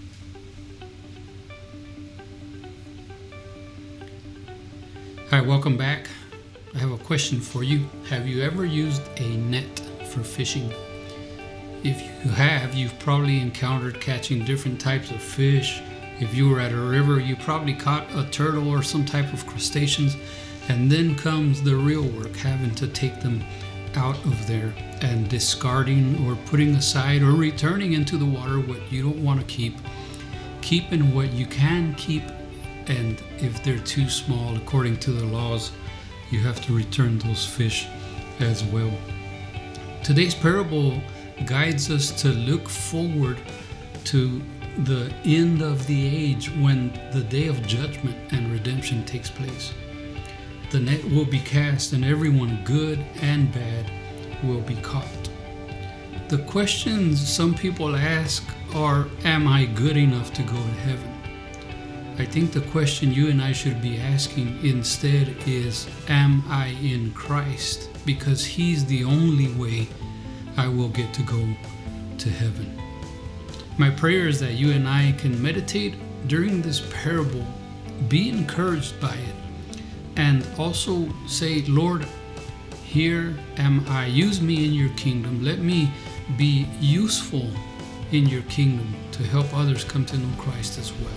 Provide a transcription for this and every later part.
Hi, welcome back. I have a question for you. Have you ever used a net for fishing? If you have, you've probably encountered catching different types of fish. If you were at a river, you probably caught a turtle or some type of crustaceans, and then comes the real work, having to take them out of there and discarding or putting aside or returning into the water what you don't want to keep, keeping what you can keep, and if they're too small, according to the laws, you have to return those fish as well. Today's parable guides us to look forward to the end of the age, when the day of judgment and redemption takes place. The net will be cast and everyone, good and bad, will be caught. The questions some people ask are, am I good enough to go to heaven? I think the question you and I should be asking instead is, am I in Christ? Because He's the only way I will get to go to heaven. My prayer is that you and I can meditate during this parable, be encouraged by it, and also say, Lord, here am I. Use me in your kingdom. Let me be useful in your kingdom to help others come to know Christ as well.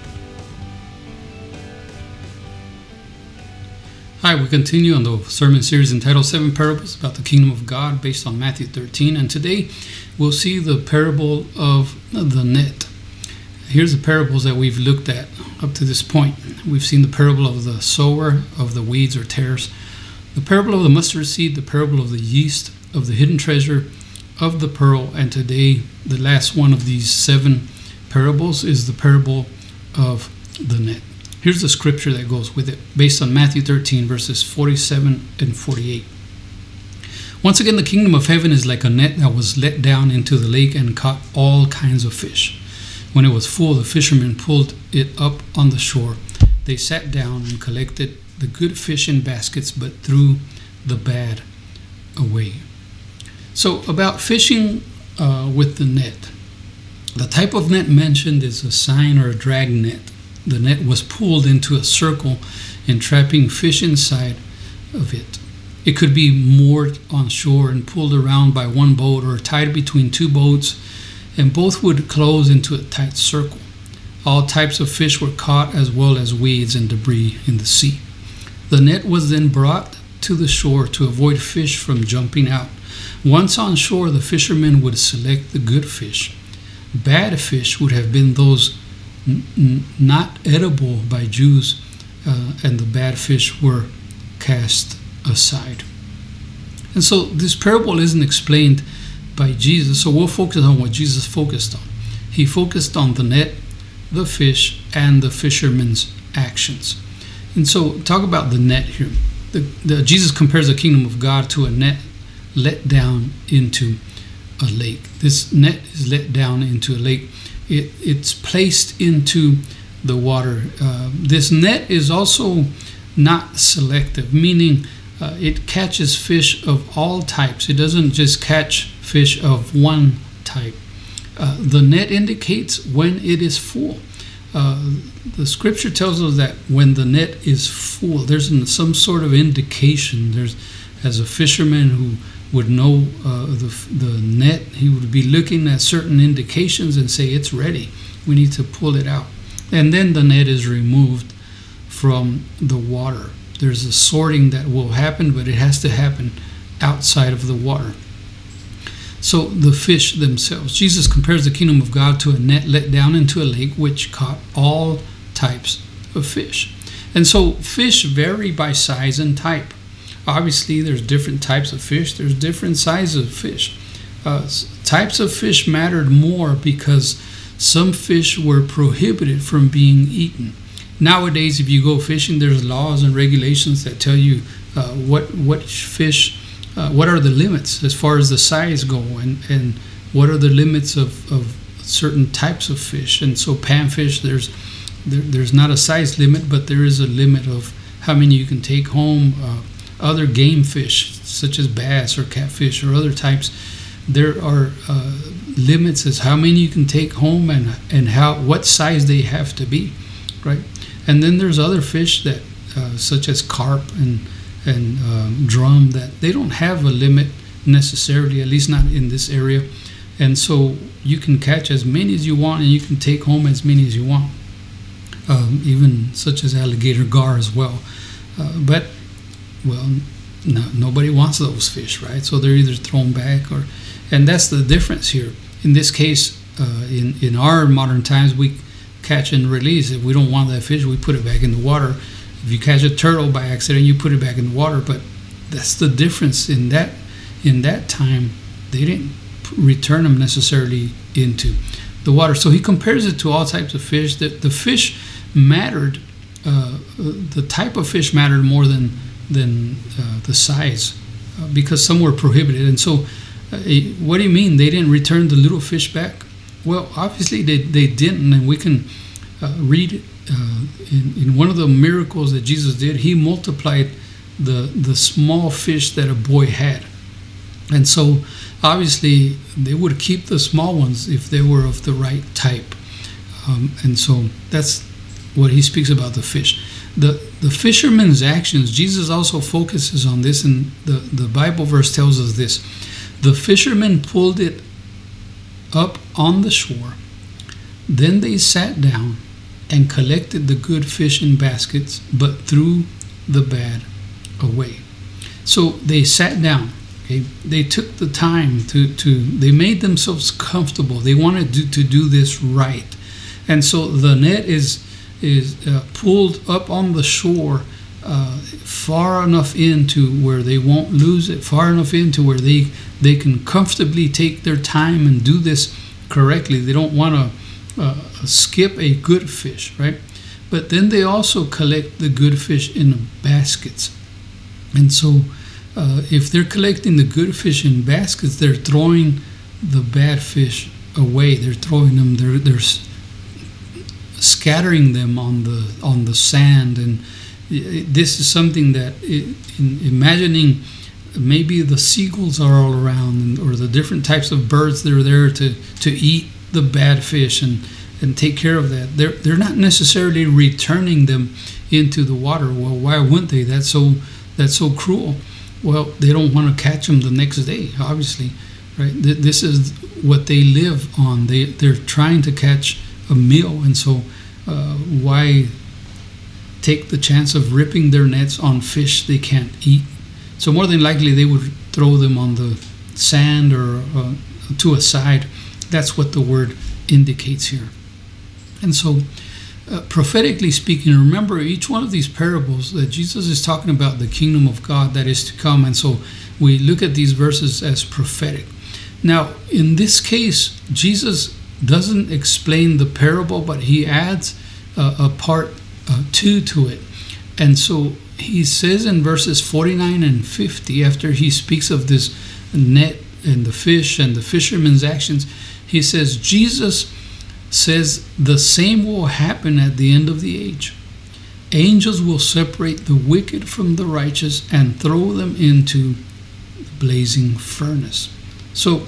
Hi, we continue on the sermon series entitled 7 Parables about the Kingdom of God, based on Matthew 13. And today we'll see the parable of the net. Here's the parables that we've looked at up to this point. We've seen the parable of the sower, of the weeds or tares, the parable of the mustard seed, the parable of the yeast, of the hidden treasure, of the pearl, and today the last one of these 7 parables is the parable of the net. Here's the scripture that goes with it, based on Matthew 13, verses 47 and 48. Once again, the kingdom of heaven is like a net that was let down into the lake and caught all kinds of fish. When it was full, the fishermen pulled it up on the shore. They sat down and collected the good fish in baskets, but threw the bad away. So, about fishing with the net. The type of net mentioned is a seine or a drag net. The net was pulled into a circle, entrapping fish inside of it. It could be moored on shore and pulled around by one boat, or tied between 2 boats, and both would close into a tight circle. All types of fish were caught, as well as weeds and debris in the sea. The net was then brought to the shore to avoid fish from jumping out. Once on shore, the fishermen would select the good fish. Bad fish would have been those not edible by Jews, and the bad fish were cast aside. And so this parable isn't explained by Jesus, so we'll focus on what Jesus focused on. He focused on the net, the fish, and the fishermen's actions. And so talk about the net here. Jesus compares the kingdom of God to a net let down into a lake. This net is let down into a lake. It's placed into the water. This net is also not selective, meaning it catches fish of all types. It doesn't just catch fish of one type. The net indicates when it is full. The scripture tells us that when the net is full, there's some sort of indication. There's, as a fisherman who would know the net, he would be looking at certain indications and say, it's ready, we need to pull it out. And then the net is removed from the water. There's a sorting that will happen, but it has to happen outside of the water. So the fish themselves, Jesus compares the kingdom of God to a net let down into a lake, which caught all types of fish. And so fish vary by size and type. Obviously, there's different types of fish. There's different sizes of fish. Types of fish mattered more because some fish were prohibited from being eaten. Nowadays, if you go fishing, there's laws and regulations that tell you what fish, what are the limits as far as the size go, and what are the limits of certain types of fish. And so panfish, there's not a size limit, but there is a limit of how many you can take home. Other game fish, such as bass or catfish or other types, there are limits as how many you can take home and what size they have to be, right? And then there's other fish that such as carp and drum, that they don't have a limit necessarily, at least not in this area. And so you can catch as many as you want, and you can take home as many as you want, even such as alligator gar as well. But nobody wants those fish, right? So they're either thrown back and that's the difference here. In this case, in our modern times, we catch and release. If we don't want that fish, we put it back in the water. If you catch a turtle by accident, you put it back in the water. But that's the difference. In that time, they didn't return them necessarily into the water. So he compares it to all types of fish. That the fish mattered, the type of fish mattered more than the size, because some were prohibited. And so, what do you mean they didn't return the little fish back? Well, obviously they didn't, and we can read in one of the miracles that Jesus did. He multiplied the small fish that a boy had, and so obviously they would keep the small ones if they were of the right type, and so that's what he speaks about the fish. The fisherman's actions, Jesus also focuses on this, and the Bible verse tells us this. The fishermen pulled it up on the shore. Then they sat down and collected the good fish in baskets, but threw the bad away. So they sat down. Okay? They took the time they made themselves comfortable. They wanted to do this right. And so the net is pulled up on the shore, far enough into where they won't lose it, far enough into where they can comfortably take their time and do this correctly. They don't want to skip a good fish, right? But then they also collect the good fish in baskets. And so if they're collecting the good fish in baskets, they're throwing the bad fish away. They're throwing them, they're scattering them on the sand. And this is something that, imagining maybe the seagulls are all around, or the different types of birds that are there to eat the bad fish and take care of that. They're not necessarily returning them into the water. Well, why wouldn't they? That's so cruel. Well, they don't want to catch them the next day, obviously, right? This is what they live on. They're trying to catch a meal, and so why take the chance of ripping their nets on fish they can't eat? So more than likely they would throw them on the sand or to a side. That's what the word indicates here. And so prophetically speaking, remember each one of these parables that Jesus is talking about the kingdom of God that is to come, and so we look at these verses as prophetic. Now in this case, Jesus doesn't explain the parable, but he adds a part 2 to it. And so he says in verses 49 and 50, after he speaks of this net and the fish and the fisherman's actions, he says, Jesus says the same will happen at the end of the age. Angels will separate the wicked from the righteous and throw them into the blazing furnace. So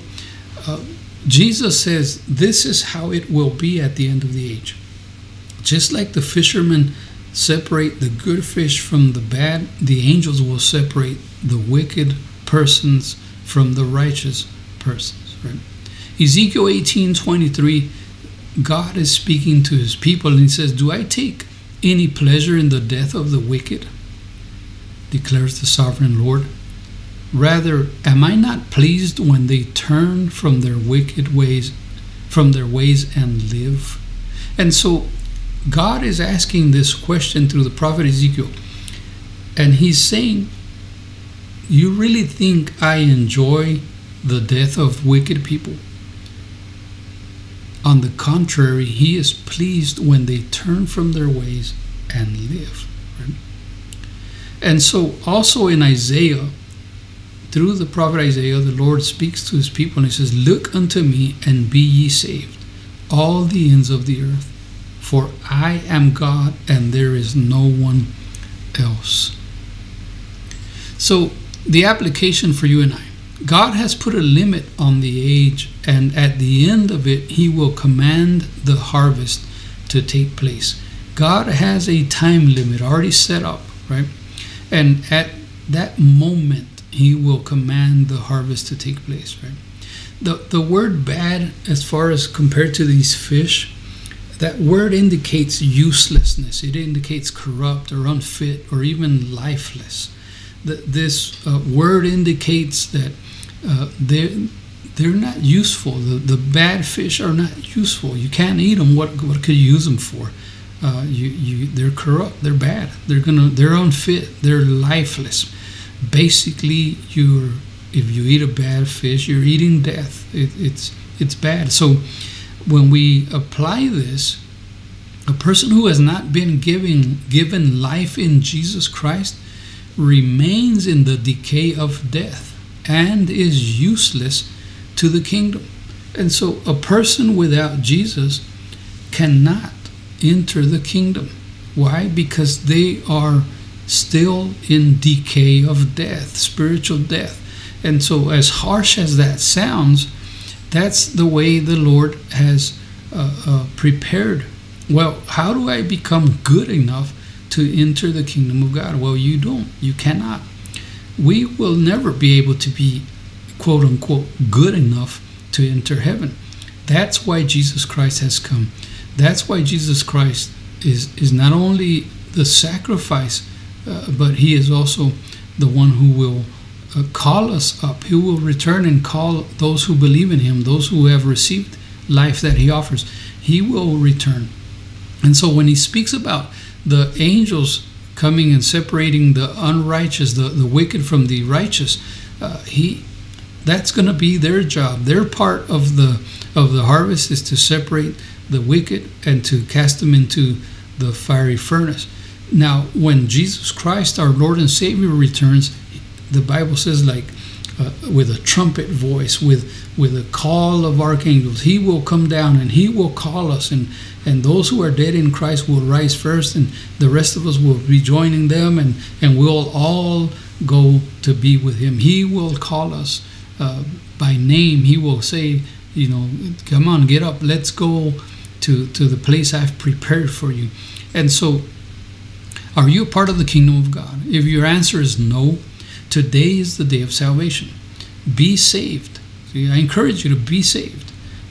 Jesus says this is how it will be at the end of the age. Just like the fishermen separate the good fish from the bad, the angels will separate the wicked persons from the righteous persons. Right? Ezekiel 18:23, God is speaking to his people, and he says, "Do I take any pleasure in the death of the wicked? Declares the sovereign Lord. Rather, am I not pleased when they turn from their wicked ways, and live?" And so God is asking this question through the prophet Ezekiel, and he's saying, you really think I enjoy the death of wicked people? On the contrary, he is pleased when they turn from their ways and live. Right? And so also in Isaiah, through the prophet Isaiah, the Lord speaks to his people, and he says, "Look unto me and be ye saved, all the ends of the earth. For I am God, and there is no one else." So the application for you and I, God has put a limit on the age, and at the end of it, he will command the harvest to take place. God has a time limit already set up, right? And at that moment, he will command the harvest to take place, right? The word bad, as far as compared to these fish, that word indicates uselessness. It indicates corrupt or unfit or even lifeless. This word indicates that they're not useful. The bad fish are not useful. You can't eat them. What could you use them for? They're corrupt. They're bad. They're unfit. They're lifeless. Basically, if you eat a bad fish, you're eating death. It's bad. So when we apply this, a person who has not been given life in Jesus Christ remains in the decay of death and is useless to the kingdom. And so a person without Jesus cannot enter the kingdom. Why? Because they are still in decay of death, spiritual death. And so as harsh as that sounds, that's the way the Lord has prepared. Well, how do I become good enough to enter the kingdom of God? Well, you don't. You cannot. We will never be able to be, quote unquote, good enough to enter heaven. That's why Jesus Christ has come. That's why Jesus Christ is not only the sacrifice, but he is also the one who will call us up. He will return and call those who believe in him, those who have received life that he offers. He will return. And so when he speaks about the angels coming and separating the unrighteous, the wicked from the righteous, that's going to be their job. Their part of the harvest is to separate the wicked and to cast them into the fiery furnace. Now, when Jesus Christ, our Lord and Savior, returns, the Bible says, like with a trumpet voice, with a call of archangels, he will come down and he will call us, and those who are dead in Christ will rise first, and the rest of us will be joining them, and we'll all go to be with him. He will call us by name. He will say, come on, get up, let's go to the place I've prepared for you. And so, are you a part of the kingdom of God? If your answer is no, today is the day of salvation. Be saved. See, I encourage you to be saved.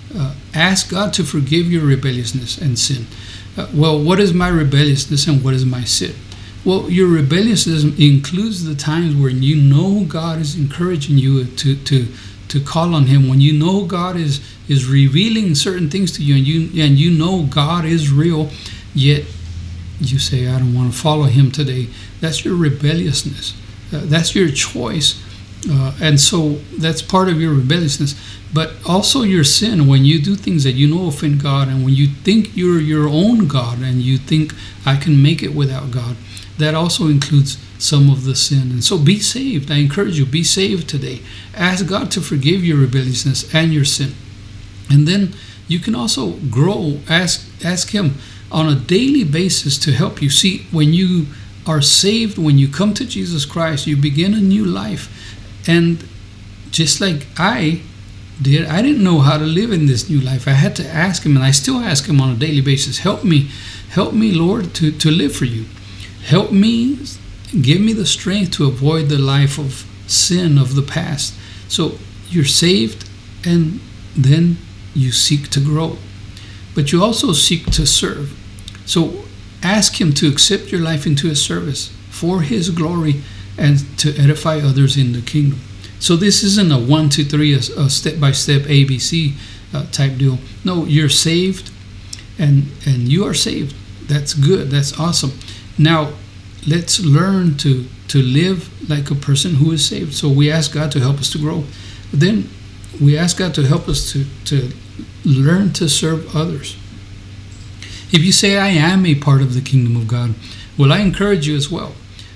Ask God to forgive your rebelliousness and sin. Well, what is my rebelliousness and what is my sin? Well, your rebelliousness includes the times when you know God is encouraging you to call on him, when you know God is revealing certain things to you, and you know God is real, yet you say, I don't want to follow him today. That's your rebelliousness. That's your choice. And so that's part of your rebelliousness. But also your sin, when you do things that you know offend God, and when you think you're your own God and you think I can make it without God, that also includes some of the sin. And so be saved. I encourage you, be saved today. Ask God to forgive your rebelliousness and your sin. And then you can also grow. Ask him on a daily basis to help you. See, when you are saved, when you come to Jesus Christ, you begin a new life. And just like I did, I didn't know how to live in this new life. I had to ask him, and I still ask him on a daily basis, help me, Lord, to live for you. Help me, give me the strength to avoid the life of sin of the past. So you're saved, and then you seek to grow. But you also seek to serve. So ask him to accept your life into his service for his glory and to edify others in the kingdom. So this isn't a 1, 2, 3, a step-by-step ABC type deal. No, you're saved, and you are saved. That's good. That's awesome. Now, let's learn to live like a person who is saved. So we ask God to help us to grow. Then we ask God to help us to learn to serve others. If you say, I am a part of the kingdom of God, well, I encourage you as well.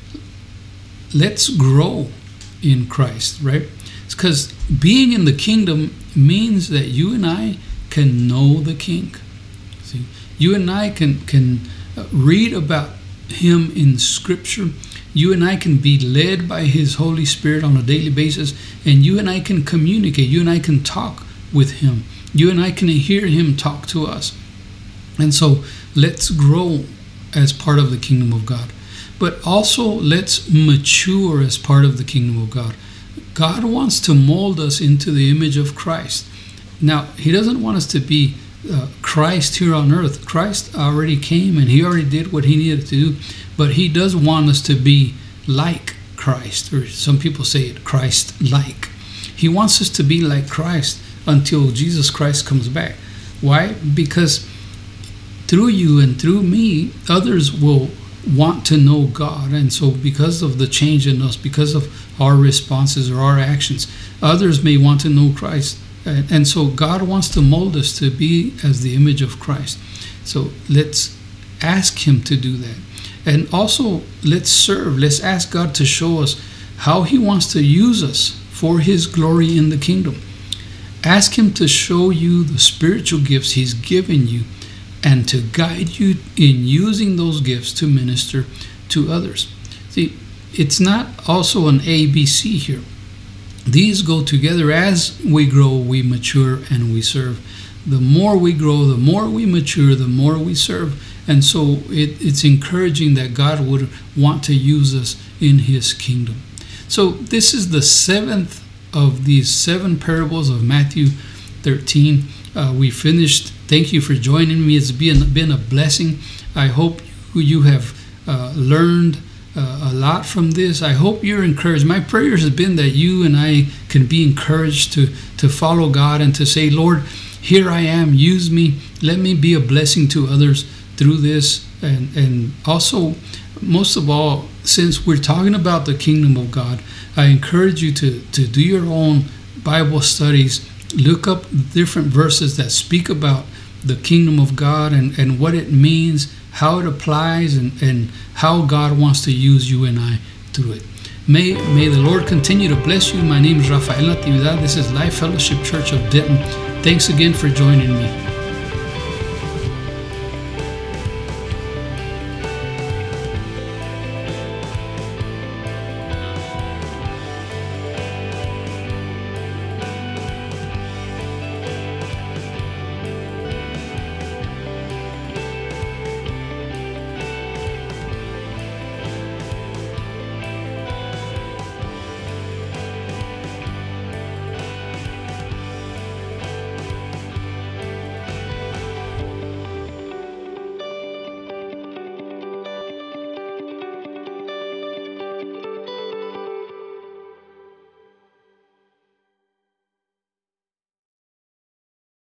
Let's grow in Christ, right? Because being in the kingdom means that you and I can know the King. See, you and I can read about him in Scripture, You and I can be led by His Holy Spirit on a daily basis, and you and I can communicate. You and I can talk with Him. You and I can hear Him talk to us. And so let's grow as part of the kingdom of God. But also let's mature as part of the kingdom of God. God wants to mold us into the image of Christ. Now, He doesn't want us to be Christ here on earth. Christ already came and He already did what He needed to do. But He does want us to be like Christ, or some people say it, Christ-like. He wants us to be like Christ until Jesus Christ comes back. Why? Because through you and through me, others will want to know God. And so because of the change in us, because of our responses or our actions, others may want to know Christ. And so God wants to mold us to be as the image of Christ. So let's ask Him to do that. And also let's serve. Let's ask God to show us how He wants to use us for His glory in the kingdom. Ask Him to show you the spiritual gifts He's given you and to guide you in using those gifts to minister to others. See, it's not also an ABC here. These go together. As we grow, we mature, and we serve. The more we grow, the more we mature, the more we serve. And so it's encouraging that God would want to use us in His kingdom. So this is the seventh of these 7 parables of Matthew 13. We finished. Thank you for joining me. It's been a blessing. I hope you have learned a lot from this. I hope you're encouraged. My prayer has been that you and I can be encouraged to follow God and to say, Lord, here I am. Use me. Let me be a blessing to others through this. And also, most of all, since we're talking about the kingdom of God, I encourage you to do your own Bible studies. Look up different verses that speak about the kingdom of God and what it means, how it applies, and how God wants to use you and I through it. May the Lord continue to bless you. My name is Rafael Natividad. This is Life Fellowship Church of Denton. Thanks again for joining me.